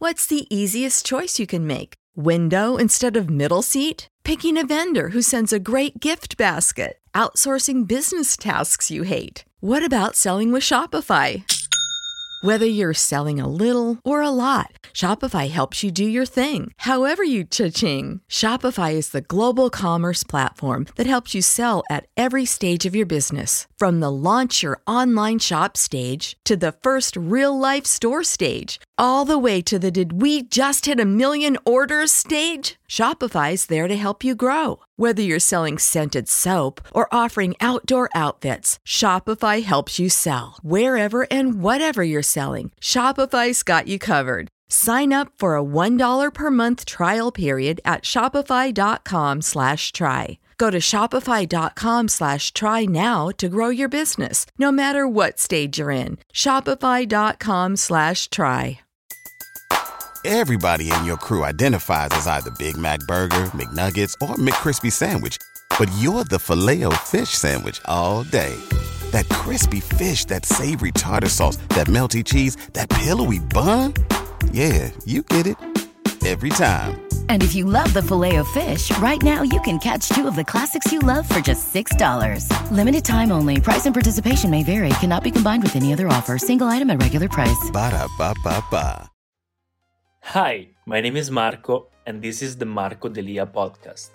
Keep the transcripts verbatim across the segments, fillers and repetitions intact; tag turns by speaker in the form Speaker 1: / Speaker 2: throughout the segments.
Speaker 1: What's the easiest choice you can make? Window instead of middle seat? Picking a vendor who sends a great gift basket? Outsourcing business tasks you hate? What about selling with Shopify? Whether you're selling a little or a lot, Shopify helps you do your thing, however you cha-ching. Shopify is the global commerce platform that helps you sell at every stage of your business. From the launch your online shop stage to the first real-life store stage, all the way to the did we just hit a million orders stage. Shopify's there to help you grow. Whether you're selling scented soap or offering outdoor outfits, Shopify helps you sell. Wherever and whatever you're selling, Shopify's got you covered. Sign up for a one dollar per month trial period at shopify.com slash try. Go to shopify.com slash try now to grow your business, no matter what stage you're in. Shopify.com slash try.
Speaker 2: Everybody in your crew identifies as either Big Mac Burger, McNuggets, or McCrispy Sandwich. But you're the Filet-O-Fish Sandwich all day. That crispy fish, that savory tartar sauce, that melty cheese, that pillowy bun. Yeah, you get it. Every time.
Speaker 3: And if you love the Filet-O-Fish, right now you can catch two of the classics you love for just six dollars. Limited time only. Price and participation may vary. Cannot be combined with any other offer. Single item at regular price.
Speaker 2: Ba-da-ba-ba-ba.
Speaker 4: Hi, my name is Marco, and this is the Marco Delia podcast.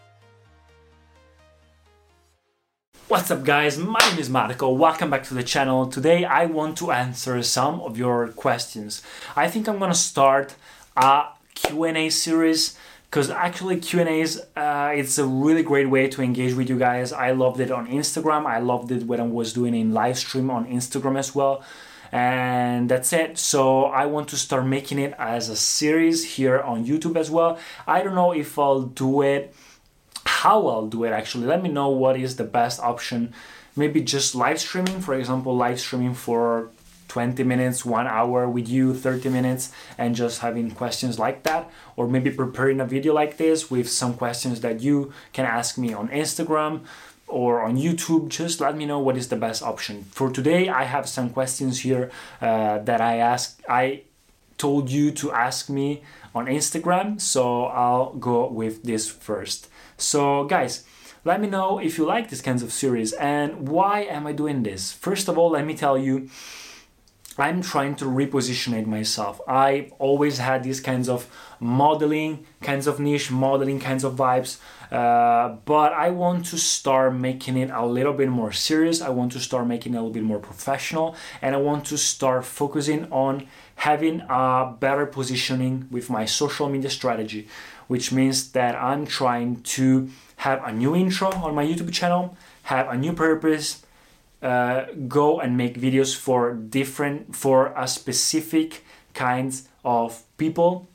Speaker 4: What's up, guys? My name is Marco. Welcome back to the channel. Today I want to answer some of your questions. I think I'm gonna start a Q and A series because actually Q and A's uh, it's a really great way to engage with you guys. I loved it on Instagram. I loved it when I was doing a live stream on Instagram as well. And that's it. So I want to start making it as a series here on YouTube as well. I don't know if I'll do it, how I'll do it actually. Let me know what is the best option. Maybe just live streaming, for example, live streaming for twenty minutes, one hour with you, thirty minutes, and just having questions like that. Or maybe preparing a video like this with some questions that you can ask me on Instagram or on YouTube. Just let me know what is the best option. For today, I have some questions here uh, that I asked, I told you to ask me on Instagram, so I'll go with this first. So guys, let me know if you like these kinds of series and why am I doing this. First of all, let me tell you, I'm trying to repositionate myself. I always had these kinds of modeling, kinds of niche, modeling kinds of vibes, uh, but I want to start making it a little bit more serious. I want to start making it a little bit more professional, and I want to start focusing on having a better positioning with my social media strategy, which means that I'm trying to have a new intro on my YouTube channel, have a new purpose, Uh, go and make videos for different, for a specific kinds of people,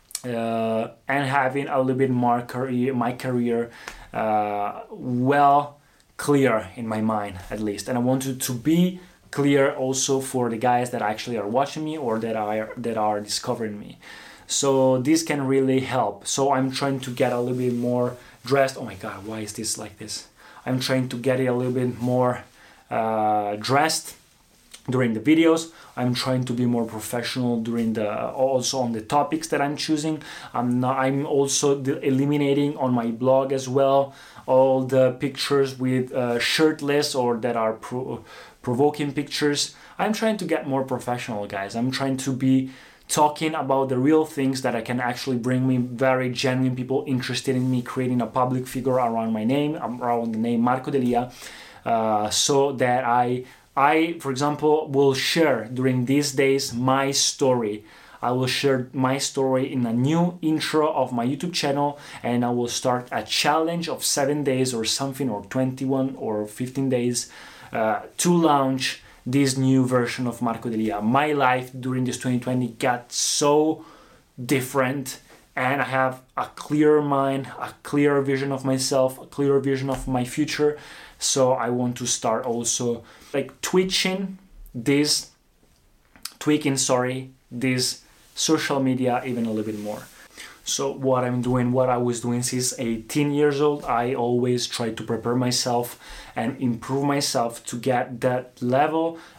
Speaker 4: uh, and having a little bit more career, my career uh, well clear in my mind at least. And I want it to be clear also for the guys that actually are watching me or that are that are discovering me. So this can really help. So I'm trying to get a little bit more dressed. Oh my God, why is this like this? I'm trying to get it a little bit more Uh, dressed during the videos. I'm trying to be more professional during the also on the topics that I'm choosing. I'm not, I'm also eliminating on my blog as well all the pictures with uh, shirtless or that are pro- provoking pictures. I'm trying to get more professional, guys. I'm trying to be talking about the real things that I can actually bring me very genuine people interested in me creating a public figure around my name, around the name Marco Delia. Uh, so that I, I, for example, will share during these days my story. I will share my story in a new intro of my YouTube channel, and I will start a challenge of seven days or something, or twenty-one or fifteen days uh, to launch this new version of Marco Delia. My life during this twenty twenty got so different, and I have a clearer mind, a clearer vision of myself, a clearer vision of my future. So I want to start also like twitching this, tweaking, sorry, this social media even a little bit more. So what I'm doing, what I was doing since eighteen years old, I always try to prepare myself and improve myself to get that level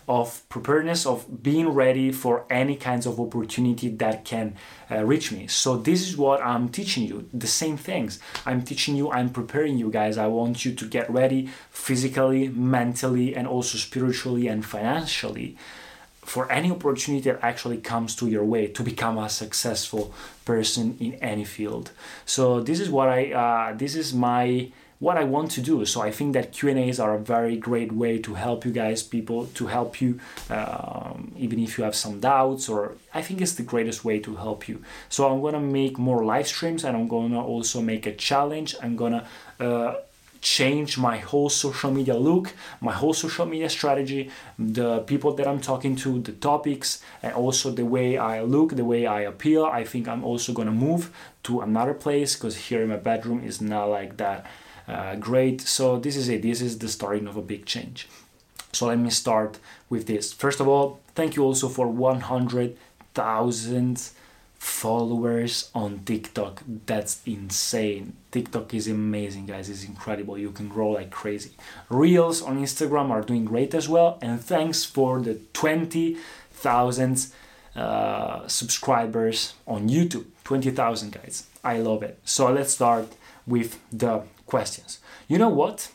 Speaker 4: of preparedness, of being ready for any kinds of opportunity that can uh, reach me. So this is what I'm teaching you, the same things. I'm teaching you, I'm preparing you guys. I want you to get ready physically, mentally, and also spiritually and financially for any opportunity that actually comes to your way to become a successful person in any field. So this is what I, uh, this is my, what I want to do. So I think that Q and A's are a very great way to help you guys, people, to help you, um, even if you have some doubts, or I think it's the greatest way to help you. So I'm gonna make more live streams, and I'm gonna also make a challenge. I'm gonna uh, change my whole social media look, my whole social media strategy, the people that I'm talking to, the topics, and also the way I look, the way I appeal. I think I'm also gonna move to another place, because here in my bedroom is not like that uh, great. So this is it. This is the starting of a big change. So let me start with this. First of all, thank you also for one hundred thousand followers on TikTok. That's insane. TikTok is amazing, guys. It's incredible. You can grow like crazy. Reels on Instagram are doing great as well. And thanks for the twenty thousand uh, subscribers on YouTube. twenty thousand, guys. I love it. So let's start with the questions. You know what?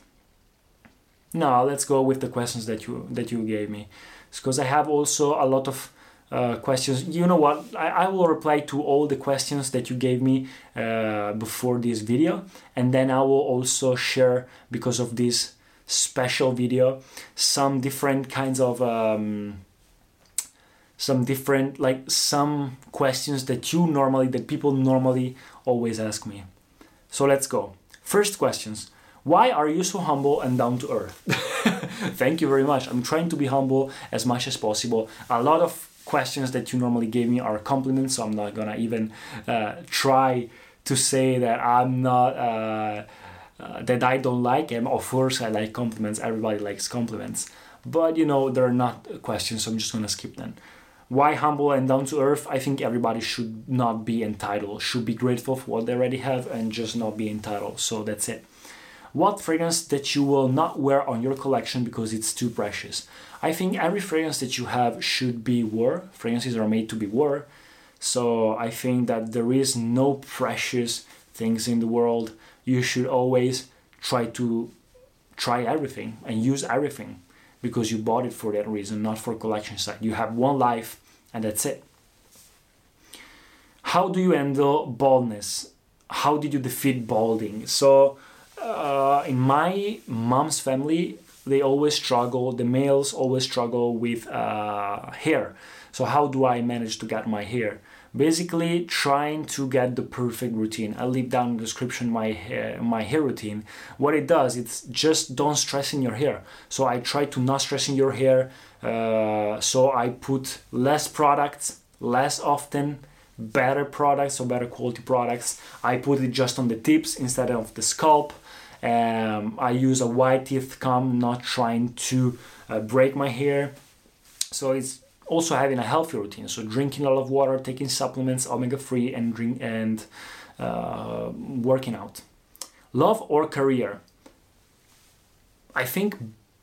Speaker 4: No, let's go with the questions that you that you gave me, because I have also a lot of Uh, questions. You know what, I, I will reply to all the questions that you gave me uh, before this video, and then I will also share, because of this special video, some different kinds of um, some different like some questions that you normally that people normally always ask me. So let's go. First questions. Why are you so humble and down to earth? Thank you very much. I'm trying to be humble as much as possible. A lot of questions that you normally gave me are compliments, so I'm not gonna even uh, try to say that I'm not uh, uh, that I don't like them. Of course I like compliments, everybody likes compliments, but you know, they're not questions, so I'm just gonna skip them. Why humble and down to earth? I think everybody should not be entitled, should be grateful for what they already have and just not be entitled. So that's it. What fragrance that you will not wear on your collection because it's too precious? I think every fragrance that you have should be worn. Fragrances are made to be worn. So I think that there is no precious things in the world. You should always try to try everything and use everything, because you bought it for that reason, not for collection side. You have one life and that's it. How do you handle baldness? How did you defeat balding? So uh, in my mom's family, they always struggle, the males always struggle with uh, hair. So how do I manage to get my hair? Basically trying to get the perfect routine. I'll leave down in the description my hair, my hair routine. What it does, it's just don't stress in your hair. So I try to not stress in your hair. Uh, so I put less products, less often, better products or better quality products. I put it just on the tips instead of the scalp. Um, I use a wide teeth comb, not trying to uh, break my hair. So it's also having a healthy routine. So drinking a lot of water, taking supplements, omega three, and drink and uh, working out. Love or career? I think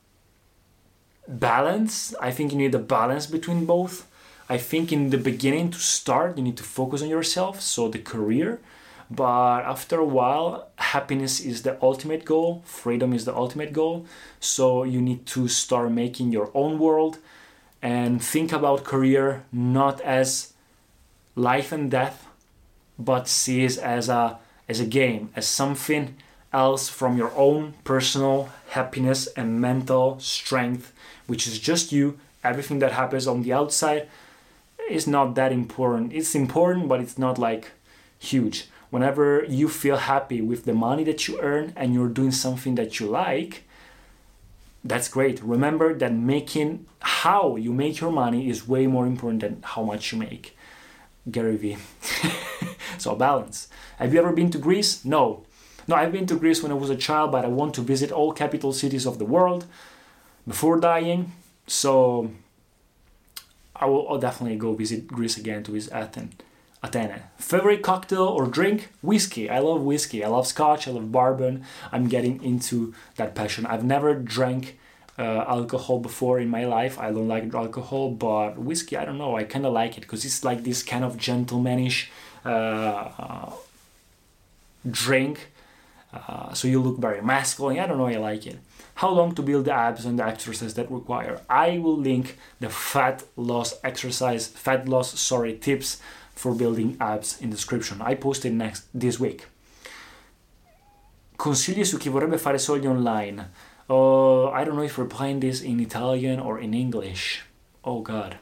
Speaker 4: balance. I think you need a balance between both. I think in the beginning, to start, you need to focus on yourself, so the career. But after a while, happiness is the ultimate goal. Freedom is the ultimate goal. So you need to start making your own world and think about career not as life and death, but see it as a as a game, as something else from your own personal happiness and mental strength, which is just you. Everything that happens on the outside is not that important. It's important, but it's not like huge. Whenever you feel happy with the money that you earn and you're doing something that you like, that's great. Remember that making how you make your money is way more important than how much you make. Gary Vee. So balance. Have you ever been to Greece? No. No, I've been to Greece when I was a child, but I want to visit all capital cities of the world before dying. So I will I'll definitely go visit Greece again, to visit Athens. Athene. Favorite cocktail or drink? Whiskey. I love whiskey. I love scotch. I love bourbon. I'm getting into that passion. I've never drank uh, alcohol before in my life. I don't like alcohol, but whiskey, I don't know, I kind of like it because it's like this kind of gentlemanish uh, uh, drink. Uh, so you look very masculine. I don't know, I like it. How long to build the abs and the exercise that require? I will link the fat loss exercise, fat loss, sorry, tips for building abs in description. I posted next this week. Consigli su chi vorrebbe fare soldi online. Uh, I don't know if we're playing this in Italian or in English. Oh God.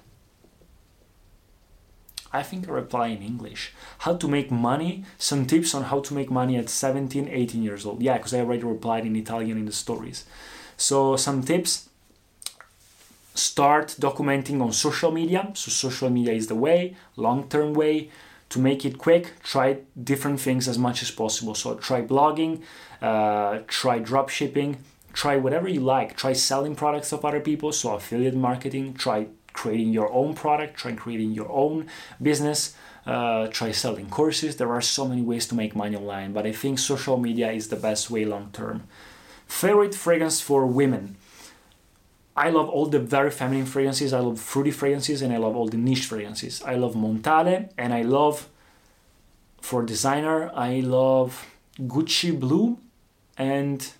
Speaker 4: I think I reply in English. How to make money. Some tips on how to make money at seventeen, eighteen years old. Yeah, because I already replied in Italian in the stories. So some tips. Start documenting on social media. So social media is the way, long-term way. To make it quick, try different things as much as possible. So try blogging, uh, try drop shipping, try whatever you like. Try selling products of other people. So affiliate marketing, try creating your own product, try creating your own business, uh, try selling courses. There are so many ways to make money online, but I think social media is the best way long term. Favorite fragrance for women. I love all the very feminine fragrances, I love fruity fragrances, and I love all the niche fragrances. I love Montale, and I love, for designer, I love Gucci Blue and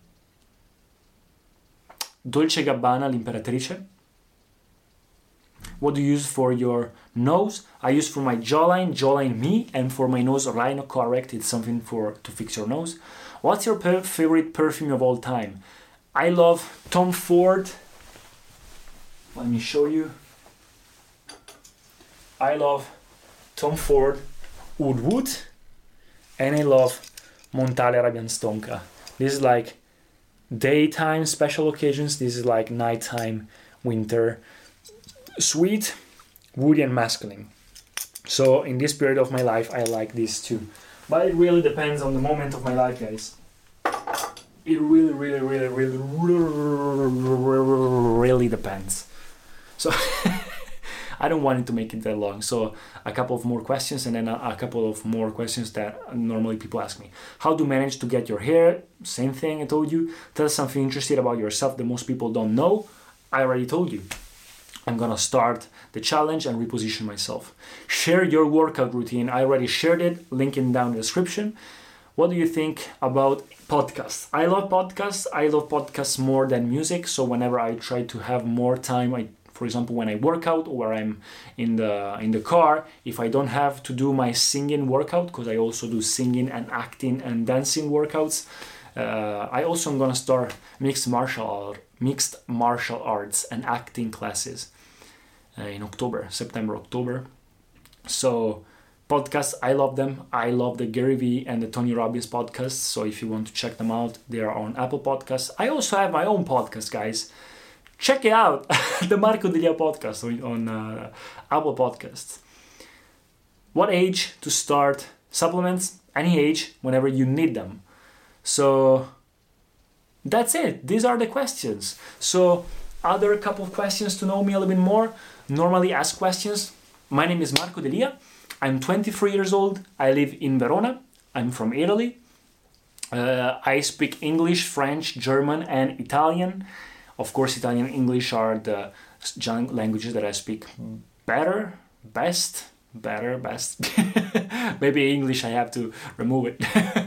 Speaker 4: Dolce Gabbana L'Imperatrice. What do you use for your nose? I use for my jawline, jawline me, and for my nose, Rhino Correct. It's something for to fix your nose. What's your per- favorite perfume of all time? I love Tom Ford. Let me show you. I love Tom Ford Oud Wood, and I love Montale Arabian Stonka. This is like daytime special occasions. This is like nighttime winter. Sweet, woody, and masculine. So in this period of my life, I like these two. But it really depends on the moment of my life, guys. It really, really, really, really, really, really depends. So I don't want it to make it that long. So a couple of more questions, and then a, a couple of more questions that normally people ask me. How to manage to get your hair? Same thing I told you. Tell us something interesting about yourself that most people don't know. I already told you. I'm gonna start the challenge and reposition myself. Share your workout routine. I already shared it, link it down in the description. What do you think about podcasts? I love podcasts. I love podcasts more than music. So whenever I try to have more time, I, for example, when I work out or I'm in the in the car, if I don't have to do my singing workout, because I also do singing and acting and dancing workouts, uh, I also am gonna start mixed martial art, mixed martial arts and acting classes. Uh, in October, September, October. So podcasts, I love them. I love the Gary Vee and the Tony Robbins podcasts. So if you want to check them out, they are on Apple Podcasts. I also have my own podcast, guys. Check it out, the Marco Delia podcast on, on uh, Apple Podcasts. What age to start supplements? Any age, whenever you need them. So that's it. These are the questions. So other couple of questions to know me a little bit more. Normally ask questions. My name is Marco Delia. I'm twenty-three years old. I live in Verona. I'm from Italy. Uh, I speak English, French, German, and Italian. Of course, Italian and English are the languages that I speak better, best, better, best. Maybe English, I have to remove it.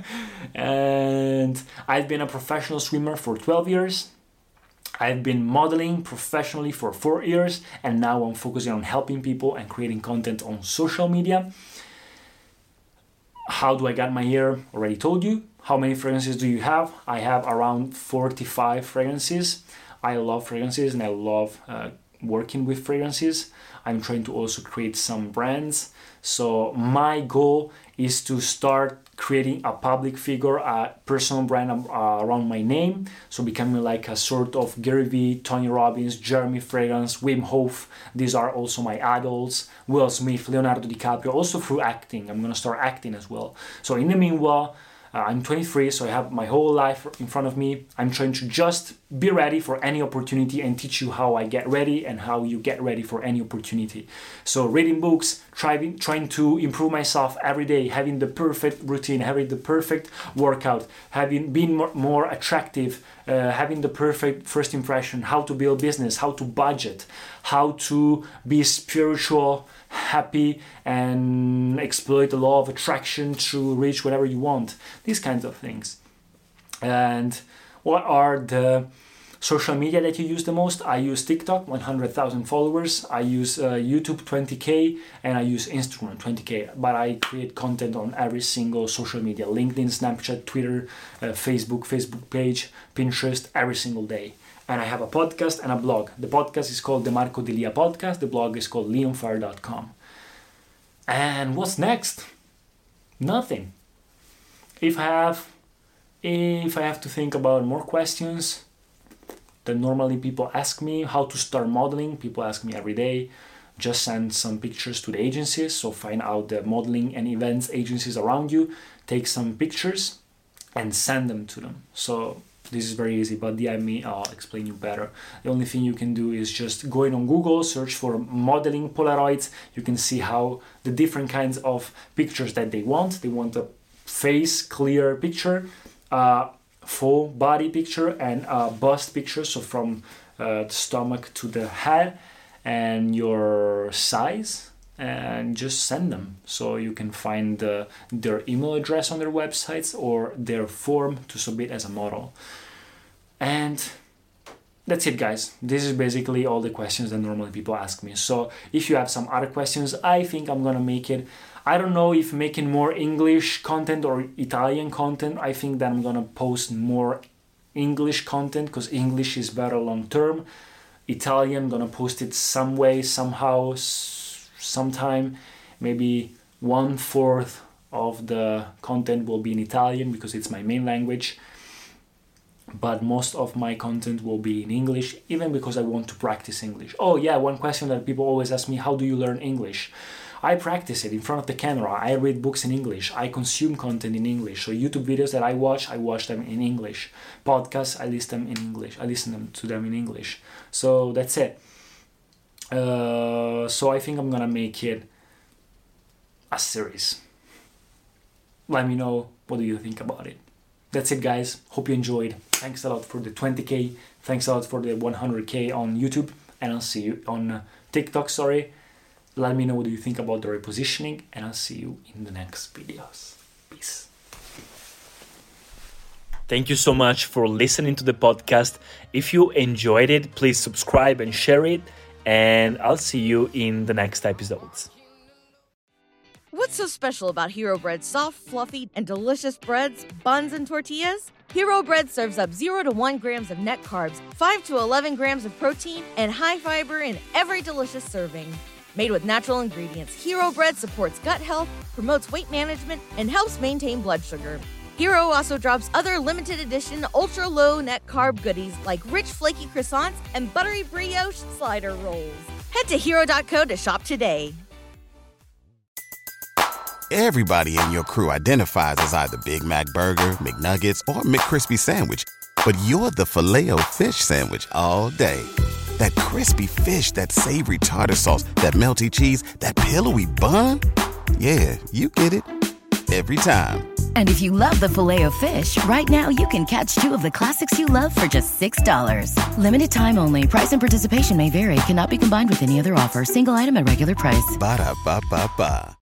Speaker 4: And I've been a professional swimmer for twelve years. I've been modeling professionally for four years, and now I'm focusing on helping people and creating content on social media. How do I get my hair? Already told you. How many fragrances do you have? I have around forty-five fragrances. I love fragrances and I love uh, working with fragrances. I'm trying to also create some brands. So my goal is to start creating a public figure, a personal brand uh, around my name. So becoming like a sort of Gary Vee, Tony Robbins, Jeremy Fragrance, Wim Hof. These are also my idols. Will Smith, Leonardo DiCaprio, also through acting. I'm gonna start acting as well. So in the meanwhile, Uh, I'm twenty-three, so I have my whole life in front of me. I'm trying to just be ready for any opportunity and teach you how I get ready and how you get ready for any opportunity. So reading books, trying, trying to improve myself every day, having the perfect routine, having the perfect workout, having been more, more attractive uh, having the perfect first impression, how to build business, how to budget, how to be spiritual, happy, and exploit the law of attraction to reach whatever you want. These kinds of things. And what are the social media that you use the most? I use TikTok, one hundred thousand followers. I use uh, YouTube, twenty K, and I use Instagram, twenty K. But I create content on every single social media: LinkedIn, Snapchat, Twitter, uh, Facebook, Facebook page, Pinterest, every single day. And I have a podcast and a blog. The podcast is called the Marco Delia Podcast. The blog is called leonfire dot com. And what's next? Nothing. If I have, if I have to think about more questions that normally people ask me, how to start modeling, people ask me every day, just send some pictures to the agencies. So find out the modeling and events agencies around you, take some pictures and send them to them. So this is very easy, but D M me, I'll explain you better. The only thing you can do is just go in on Google, search for modeling Polaroids. You can see how the different kinds of pictures that they want. They want a face clear picture, uh, full body picture, and a bust picture, so from uh, the stomach to the head, and your size, and just send them. So you can find uh, their email address on their websites or their form to submit as a model. And that's it, guys. This is basically all the questions that normally people ask me. So if you have some other questions, I think I'm gonna make it. I don't know if making more English content or Italian content. I think that I'm gonna post more English content because English is better long term. Italian, I'm gonna post it some way, somehow, sometime. Maybe one fourth of the content will be in Italian because it's my main language. But most of my content will be in English, even because I want to practice English. Oh yeah, one question that people always ask me, how do you learn English? I practice it in front of the camera. I read books in English. I consume content in English. So YouTube videos that I watch, I watch them in English. Podcasts, I listen them in English. I listen them to them in English. So that's it. Uh, so I think I'm gonna make it a series. Let me know, what do you think about it? That's it, guys. Hope you enjoyed. Thanks a lot for the twenty K. Thanks a lot for the one hundred K on YouTube. And I'll see you on uh, TikTok, sorry. Let me know what you think about the repositioning, and I'll see you in the next videos. Peace. Thank you so much for listening to the podcast. If you enjoyed it, please subscribe and share it, and I'll see you in the next episodes.
Speaker 5: What's so special about Hero Bread's soft, fluffy, and delicious breads, buns, and tortillas? Hero Bread serves up zero to one grams of net carbs, five to eleven grams of protein, and high fiber in every delicious serving. Made with natural ingredients, Hero Bread supports gut health, promotes weight management, and helps maintain blood sugar. Hero also drops other limited edition ultra-low net carb goodies like rich flaky croissants and buttery brioche slider rolls. Head to hero dot co to shop today.
Speaker 2: Everybody in your crew identifies as either Big Mac Burger, McNuggets, or McCrispy Sandwich. But you're the Filet-O-Fish Sandwich all day. That crispy fish, that savory tartar sauce, that melty cheese, that pillowy bun. Yeah, you get it. Every time.
Speaker 3: And if you love the Filet-O-Fish, right now you can catch two of the classics you love for just six dollars. Limited time only. Price and participation may vary. Cannot be combined with any other offer. Single item at regular price.
Speaker 2: Ba-da-ba-ba-ba.